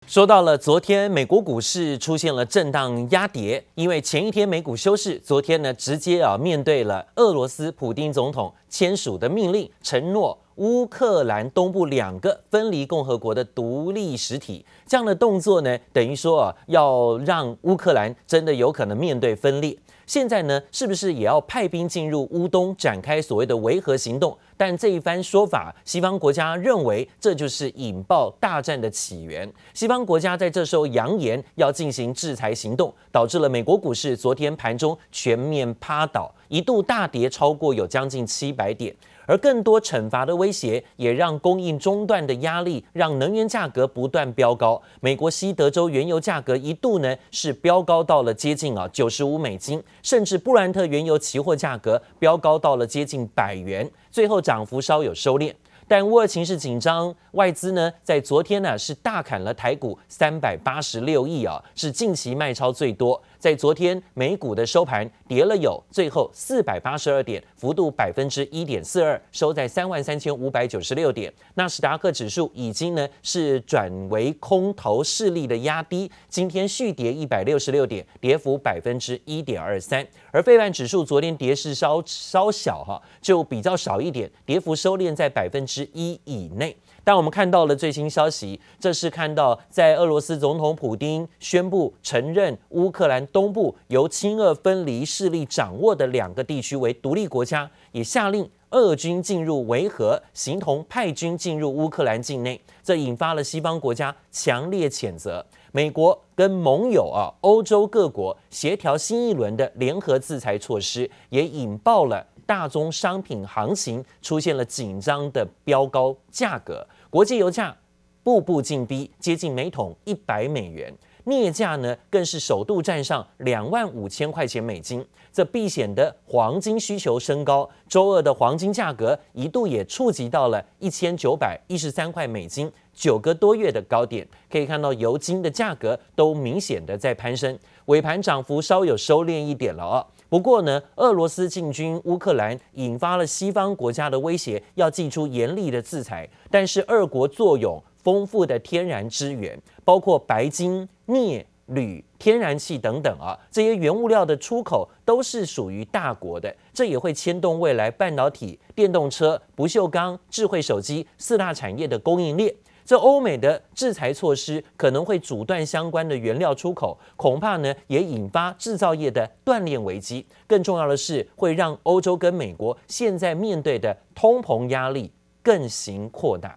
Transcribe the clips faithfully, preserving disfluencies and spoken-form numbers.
說到了昨天，美國股市出現了震盪壓跌，因為前一天美股休市，昨天呢直接啊面對了俄羅斯普丁總統簽署的命令，承諾烏克蘭東部兩個分離共和國的獨立實體，這樣的動作呢，等於說啊要讓烏克蘭真的有可能面對分裂。現在呢，是不是也要派兵進入烏東，展開所謂的維和行動？但這一番說法，西方國家認為這就是引爆大戰的起源。西方國家在這時候揚言要進行制裁行動，導致了美國股市昨天盤中全面趴倒，一度大跌超過有將近七百點。而更多懲罰的威脅，也讓供應中斷的壓力，讓能源價格不斷飆高。美國西德州原油價格一度呢是飆高到了接近啊九十五美金，甚至布蘭特原油期貨價格飆高到了接近百元，最後漲幅稍有收斂。但烏俄情勢緊張，外資呢在昨天呢是大砍了台股三百八十六億啊，是近期賣超最多。在昨天美股的收盤跌了有最後四百八十二點，幅度百分之一點四二，收在三萬三千五百九十六點。納斯達克指數已經呢是轉為空頭勢力的壓低，今天續跌一百六十六點，跌幅百分之一點二三。而費半指數昨天跌勢稍稍小哈，就比較少一點，跌幅收斂在百分之一以內。但我們看到了最新消息，這是看到在俄羅斯總統普丁宣布承認烏克蘭東部由親俄分離勢力掌握的兩個地區為獨立國家，也下令俄軍進入維和，形同派軍進入烏克蘭境內，這引發了西方國家強烈譴責。美國跟盟友啊，歐洲各國協調新一輪的聯合制裁措施，也引爆了大宗商品行情出現了緊張的飆高價格，國際油價步步進逼，接近每桶一百美元。鎳價呢，更是首度站上兩萬五千塊錢美金，這避險的黃金需求升高，周二的黃金價格一度也觸及到了一千九百一十三塊美金，九個多月的高點。可以看到油金的價格都明顯的在攀升，尾盤漲幅稍有收斂一點了啊。不過呢，俄羅斯進軍烏克蘭，引發了西方國家的威脅，要祭出嚴厲的制裁。但是俄國坐擁豐富的天然資源，包括白金、鎳、鋁、天然氣等等啊，這些原物料的出口都是屬於大國的，這也會牽動未來半導體、電動車、不鏽鋼、智慧手機四大產業的供應鏈。這歐美的制裁措施可能會阻斷相關的原料出口，恐怕呢也引發製造業的斷鏈危機。更重要的是，會讓歐洲跟美國現在面對的通膨壓力更形擴大。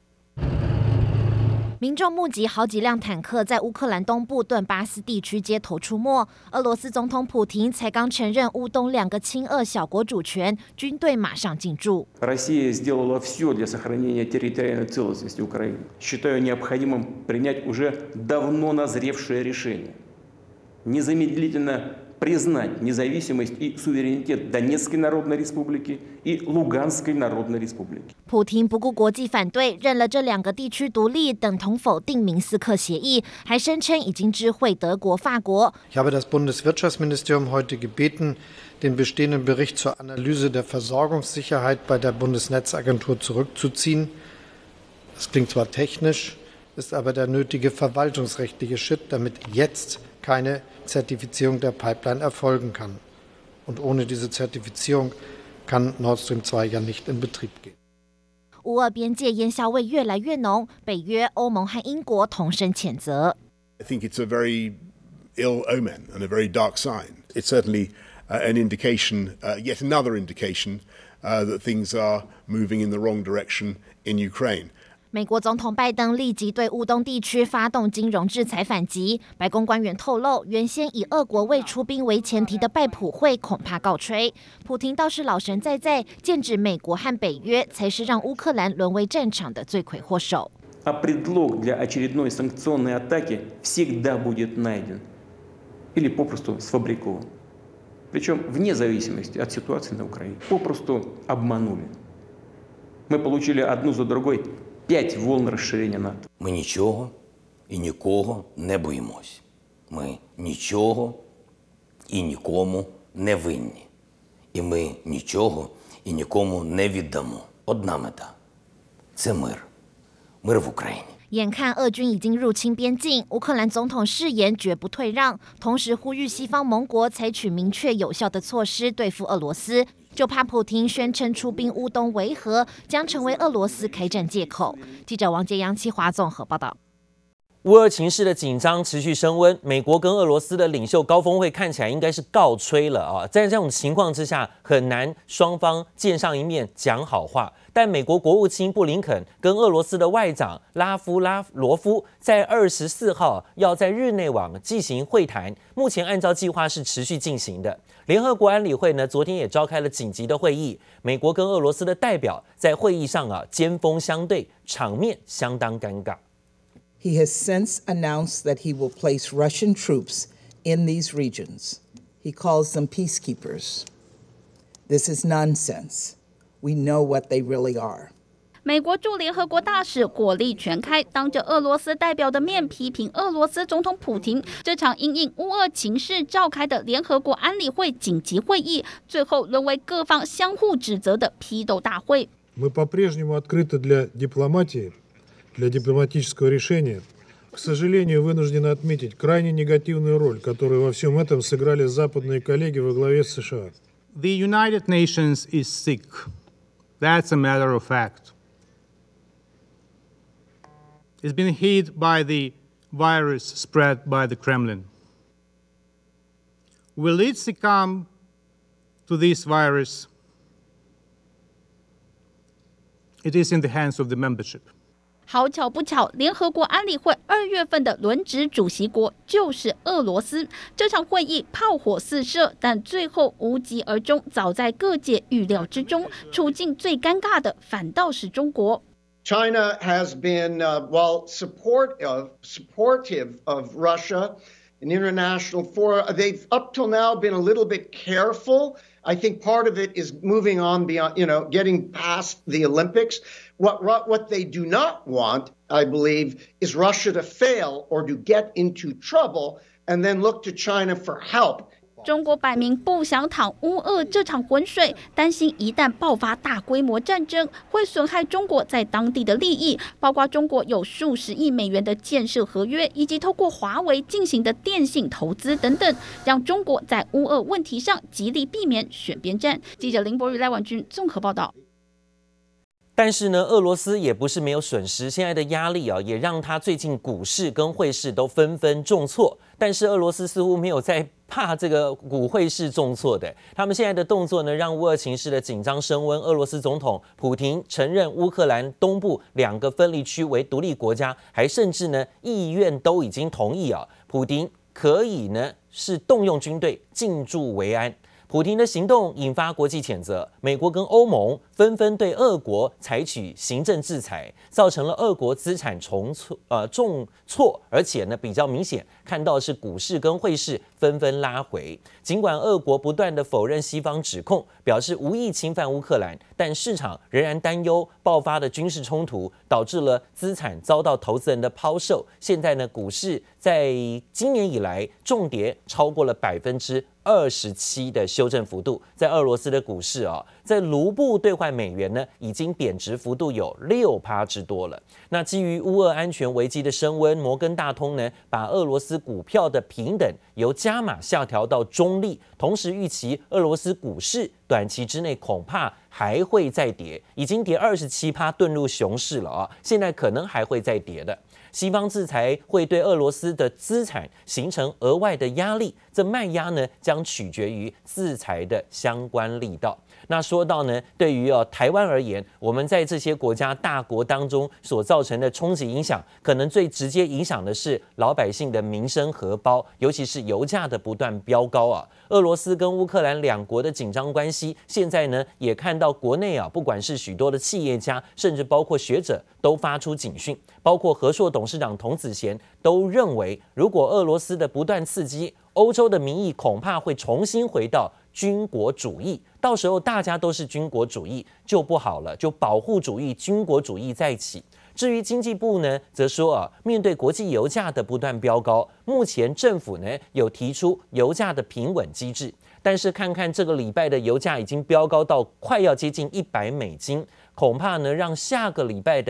民眾目擊好幾輛坦克在烏克蘭東部頓巴斯地區街頭出沒。俄羅斯總統普丁才剛承認烏東兩個親俄小國主權，軍隊馬上進駐。 Россия сделала все для сохранения территориальной целостности Украины. Считаю необходимым принять уже давно назревшее решение. Незамедлительно признать независимость и суверенитет Донецкой Народной Республики и Луганской Народной Республики. 普丁不顧國際反對，認了這兩個地區獨立，等同否定明斯克協議，還聲稱已經知會德國、法國。 Ich habe das Bundeswirtschaftsministerium heute gebeten, den bestehenden Bericht zur Analyse der Versorgungssicherheit bei der Bundesnetzagentur zurückzuziehen. Das klingt zwar technisch, ist aber der nötige verwaltungsrechtliche Schritt, damit jetzt keine Zertifizierung der Pipeline erfolgen kann. Und ohne diese Zertifizierung kann Nord Stream zwei ja nicht in Betrieb gehen. 烏俄邊界煙硝味越來越濃，北約、歐盟和英國同聲譴責。 I think it's a very ill omen and a very dark sign. It's certainly uh, an indication, uh, yet another indication, uh, that things are moving in the wrong direction in Ukraine. 美國總統拜登立即對烏東地區發動金融制裁反擊。白宮官員透露，原先以俄國未出兵為前提的拜普會恐怕告吹。普丁倒是老神在在，劍指美國和北約才是讓烏克蘭淪為戰場的罪魁禍首。 А предлог для очередной санкционной атаки всегда будет найден или попросту сфабрикован. Причем вне зависимости от ситуации на Украине. Попросту обманули. Мы получили одну за другой п'ять волн розширення НАТО. Ми нічого і нікого не боїмось. Ми нічого і нікому не винні. І ми нічого і нікому не віддамо. Одна мета – це мир. Мир в Україні. 眼看俄軍已經入侵邊境，烏克蘭總統誓言絕不退讓，同時呼籲西方盟國採取明確有效的措施對付俄羅斯，就怕普亭宣稱出兵烏東維和將成為俄羅斯開戰借口。記者王杰、楊七華綜合報道。 烏俄情勢的緊張持續升溫，美國跟俄羅斯的領袖高峰會看起來應該是告吹了啊！在這種情況之下，很難雙方見上一面講好話。但美國國務卿布林肯跟俄羅斯的外長拉夫拉羅夫在二十四號要在日內瓦進行會談，目前按照計劃是持續進行的。聯合國安理會呢，昨天也召開了緊急的會議，美國跟俄羅斯的代表在會議上啊針鋒相對，場面相當尷尬。 He has since announced that he will place Russian troops in these regions. He calls them peacekeepers. This is nonsense. We know what they really are. 美國駐聯合國大使火力全開，當着俄羅斯代表的面批評俄羅斯總統普亭。這場因應烏俄情勢召開的聯合國安理會緊急會議，最後淪為各方相互指責的批鬥大會。 Мы по-прежнему открыты для дипломатии, для дипломатического решения. К сожалению, вынуждены отметить крайне негативную роль, которую во всем этом сыграли западные коллеги во главе с США. The United Nations is sick. That's a matter of fact. It's been hit by the virus spread by the Kremlin. Will it succumb to this virus? It is in the hands of the membership. 好巧不巧，聯合國安理會二月份的輪值主席國就是俄羅斯。這場會議炮火四射，但最後無疾而終，早在各界預料之中。處境最尷尬的反倒是中國。 China has been, uh, well, support of, supportive of Russia in international fora. They've up till now been a little bit careful. I think part of it is moving on beyond, you know, getting past the Olympics. What, what they do not want, I believe, is Russia to fail or to get into trouble and then look to China for help. 中國擺明不想淌烏俄這場渾水，擔心一旦爆發大規模戰爭，會損害中國在當地的利益，包括中國有數十億美元的建設合約，以及透過華為進行的電信投資等等，讓中國在烏俄問題上極力避免選邊站。記者林博宇、賴婉君綜合報道。 但是呢，俄羅斯也不是沒有損失，現在的壓力啊，也讓他最近股市跟匯市都紛紛重挫。但是俄羅斯似乎沒有在怕這個股匯市重挫的，他們現在的動作呢，讓烏俄情勢的緊張升溫。俄羅斯總統普亭承認烏克蘭東部兩個分離區為獨立國家，還甚至呢，議院都已經同意啊，普亭可以呢是動用軍隊進駐維安。普亭的行動引發國際譴責，美國跟歐盟紛紛對俄國採取行政制裁，造成了俄國資產重挫呃重挫，而且呢比較明顯看到是股市跟匯市紛紛拉回。儘管俄國不斷的否認西方指控，表示無意侵犯烏克蘭，但市場仍然擔憂爆發的軍事衝突導致了資產遭到投資人的拋售。現在呢，股市在今年以來重跌超過了百分之二十七的修正幅度。在俄羅斯的股市啊、哦，在盧布兌換美元呢，已經貶值幅度有六趴之多了。那基於烏俄安全危機的升溫，摩根大通呢，把俄羅斯股票的評等由加碼下調到中立，同時預期俄羅斯股市短期之內恐怕還會再跌，已經跌二十七趴遁入熊市了啊，現在可能還會再跌的。西方制裁會對俄羅斯的資產形成額外的壓力，這賣壓呢將取決於制裁的相關力道。那說到呢，對於呃台灣而言，我們在這些國家大國當中所造成的衝擊影響，可能最直接影響的是老百姓的民生荷包，尤其是油價的不斷飆高啊。俄羅斯跟烏克蘭兩國的緊張關係，現在呢也看到國內啊，不管是許多的企業家，甚至包括學者，都發出警訊，包括和碩董事長童子賢都認為，如果俄羅斯的不斷刺激，歐洲的民意恐怕會重新回到軍國主義，到時候大家都是軍國主義就不好了，就保護主義、軍國主義在一起。至於經濟部呢，則說啊，面對國際油價的不斷飆高，目前政府呢有提出油價的平穩機制，但是看看這個禮拜的油價已經飆高到快要接近一百美金，恐怕呢讓下個禮拜的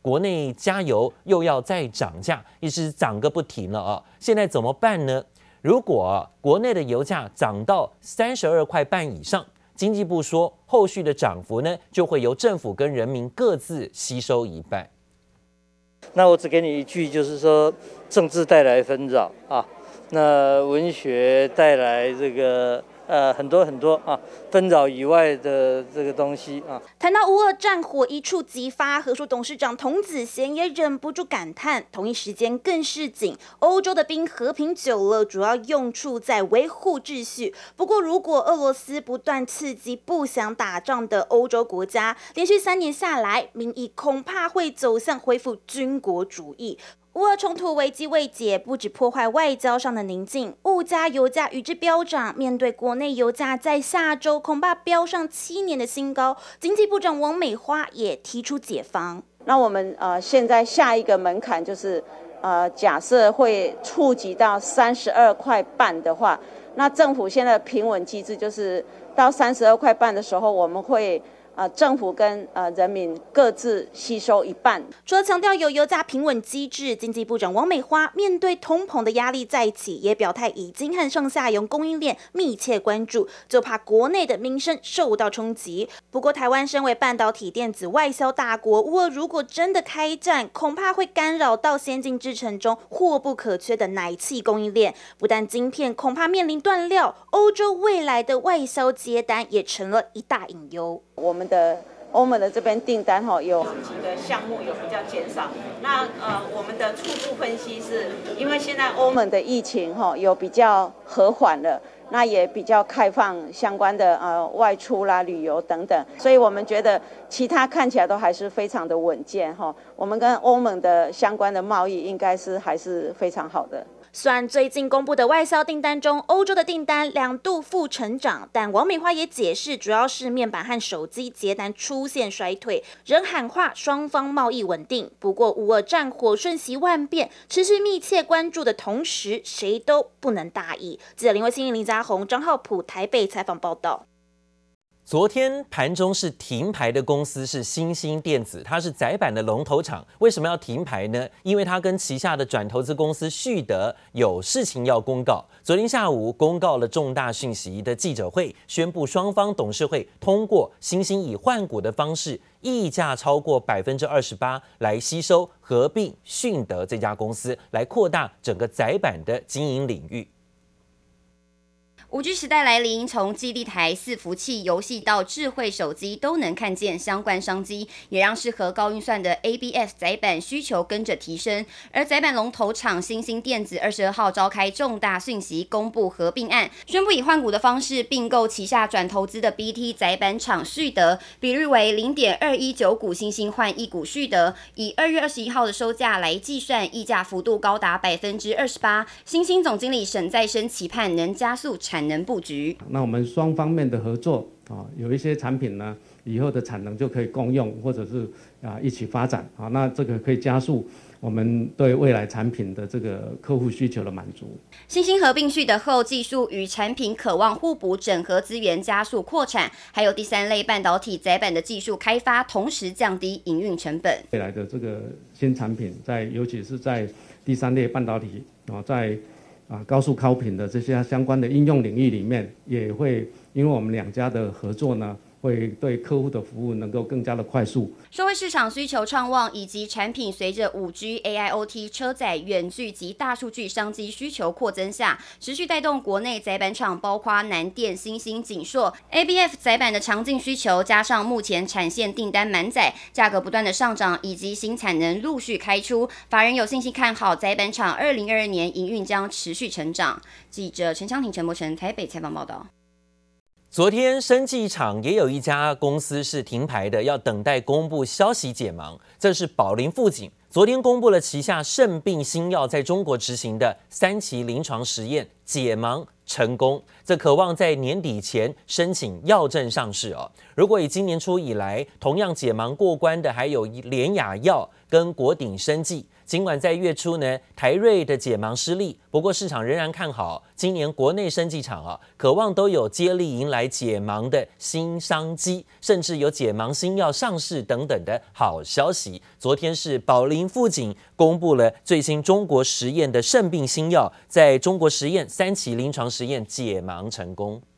國內加油又要再漲價，一直漲個不停了啊！現在怎麼辦呢？如果國內的油價漲到三十二塊半以上，經濟部說，後續的漲幅呢，就會由政府跟人民各自吸收一半。 那我只給你一句，就是說，政治帶來紛擾啊，那文學帶來這個。呃，很多很多啊，紛擾以外的這個東西啊。 談到烏俄戰火一觸即發，和碩董事長童子賢也忍不住感嘆，同一時間更是緊，歐洲的兵和平久了，主要用處在維護秩序。不過，如果俄羅斯不斷刺激不想打仗的歐洲國家，連續三年下來，民意恐怕會走向恢復軍國主義。烏俄衝突危機未解，不止破壞外交上的寧靜，物價、油價與之飆漲。面對國內油價在下周恐怕飆上七年的新高，經濟部長王美花也提出解方。 那我們呃現在下一個門檻就是呃假設會觸及到三十二塊半的話，那政府現在的平穩機制就是到三十二塊半的時候，我們會。呃，政府跟呃人民各自吸收一半。 除了強調有油價平穩機制，經濟部長王美花面對通膨的壓力再起，也表態已經和上下游供應鏈密切關注，就怕國內的民生受到衝擊。不過，台灣身為半導體電子外銷大國，烏俄如果真的開戰，恐怕會干擾到先進製程中或不可缺的奶氣供應鏈。不但晶片恐怕面臨斷料，歐洲未來的外銷接單也成了一大隱憂。 我們的歐盟的這邊訂單哈有幾個項目有比較減少，那呃我們的初步分析是，因為現在歐盟的疫情哈有比較和緩了，那也比較開放相關的呃外出啦、旅遊等等，所以我們覺得其他看起來都還是非常的穩健哈。我們跟歐盟的相關的貿易應該是還是非常好的。 雖然最近公布的外銷訂單中，歐洲的訂單兩度負成長，但王美花也解釋，主要是面板和手機接單出現衰退，仍喊話雙方貿易穩定。不過烏俄戰火瞬息萬變，持續密切關注的同時，誰都不能大意。記者林慧欣、林家宏、張浩普台北採訪報道。 昨天盤中是停牌的公司是欣興電子，它是載板的龍頭廠。為什麼要停牌呢？因為它跟旗下的轉投資公司旭德有事情要公告。昨天下午公告了重大訊息的記者會，宣布雙方董事會通過欣興以換股的方式，溢價超過百分之二十八來吸收合併迅德這家公司，來擴大整個載板的經營領域。 五 G 時代來臨，從基地台、伺服器、遊戲到智慧手機，都能看見相關商機，也讓適合高運算的 A B F 載板需求跟着提升。而載板龍頭廠欣興電子二十二號召開重大訊息，公布合併案，宣布以換股的方式併購旗下轉投資的 B T 載板廠旭德，比率為零點二一九股欣興換一股旭德，以二月二十一號的收價來計算，溢價幅度高達百分之二十八。欣興總經理沈再生期盼能加速產能布局。 那我們雙方面的合作啊，有一些產品呢，以後的產能就可以共用，或者是啊一起發展啊，那這個可以加速我們對未來產品的這個客戶需求的滿足。 欣興合併旭德後，技術與產品渴望互補，整合資源，加速擴產，還有第三類半導體載板的技術開發，同時降低營運成本。 未來的這個新產品在，尤其是在第三類半導體啊，在啊，高速高頻的這些相關的應用領域裡面，也會因為我們兩家的合作呢，會對客戶的服務能夠更加的快速。 社會市場需求暢旺，以及產品隨着 五 G、A I O T、車載、遠距及大數據商機需求擴增下，持續帶動國內載板廠，包括南電、欣興、景碩、A B F 載板的強勁需求，加上目前產線訂單滿載，價格不斷的上漲，以及新產能陸續開出，法人有信心看好載板廠二零二二年營運將持續成長。記者陳昌廷、陳柏成台北採訪報道。 昨天生技廠也有一家公司是停牌的，要等待公布消息解盲。這是寶林富錦，昨天公布了旗下腎病新藥在中國執行的三期臨床實驗解盲成功，這可望在年底前申請藥證上市哦。如果以今年初以來同樣解盲過關的，還有聯亞藥跟國鼎生技， 儘管在月初呢，台瑞的解盲失利，不過市場仍然看好今年國內生技廠啊，渴望都有接力迎來解盲的新商機，甚至有解盲新藥上市等等的好消息。昨天是寶林富錦公布了最新中國實驗的腎病新藥，在中國實驗三期臨床實驗解盲成功。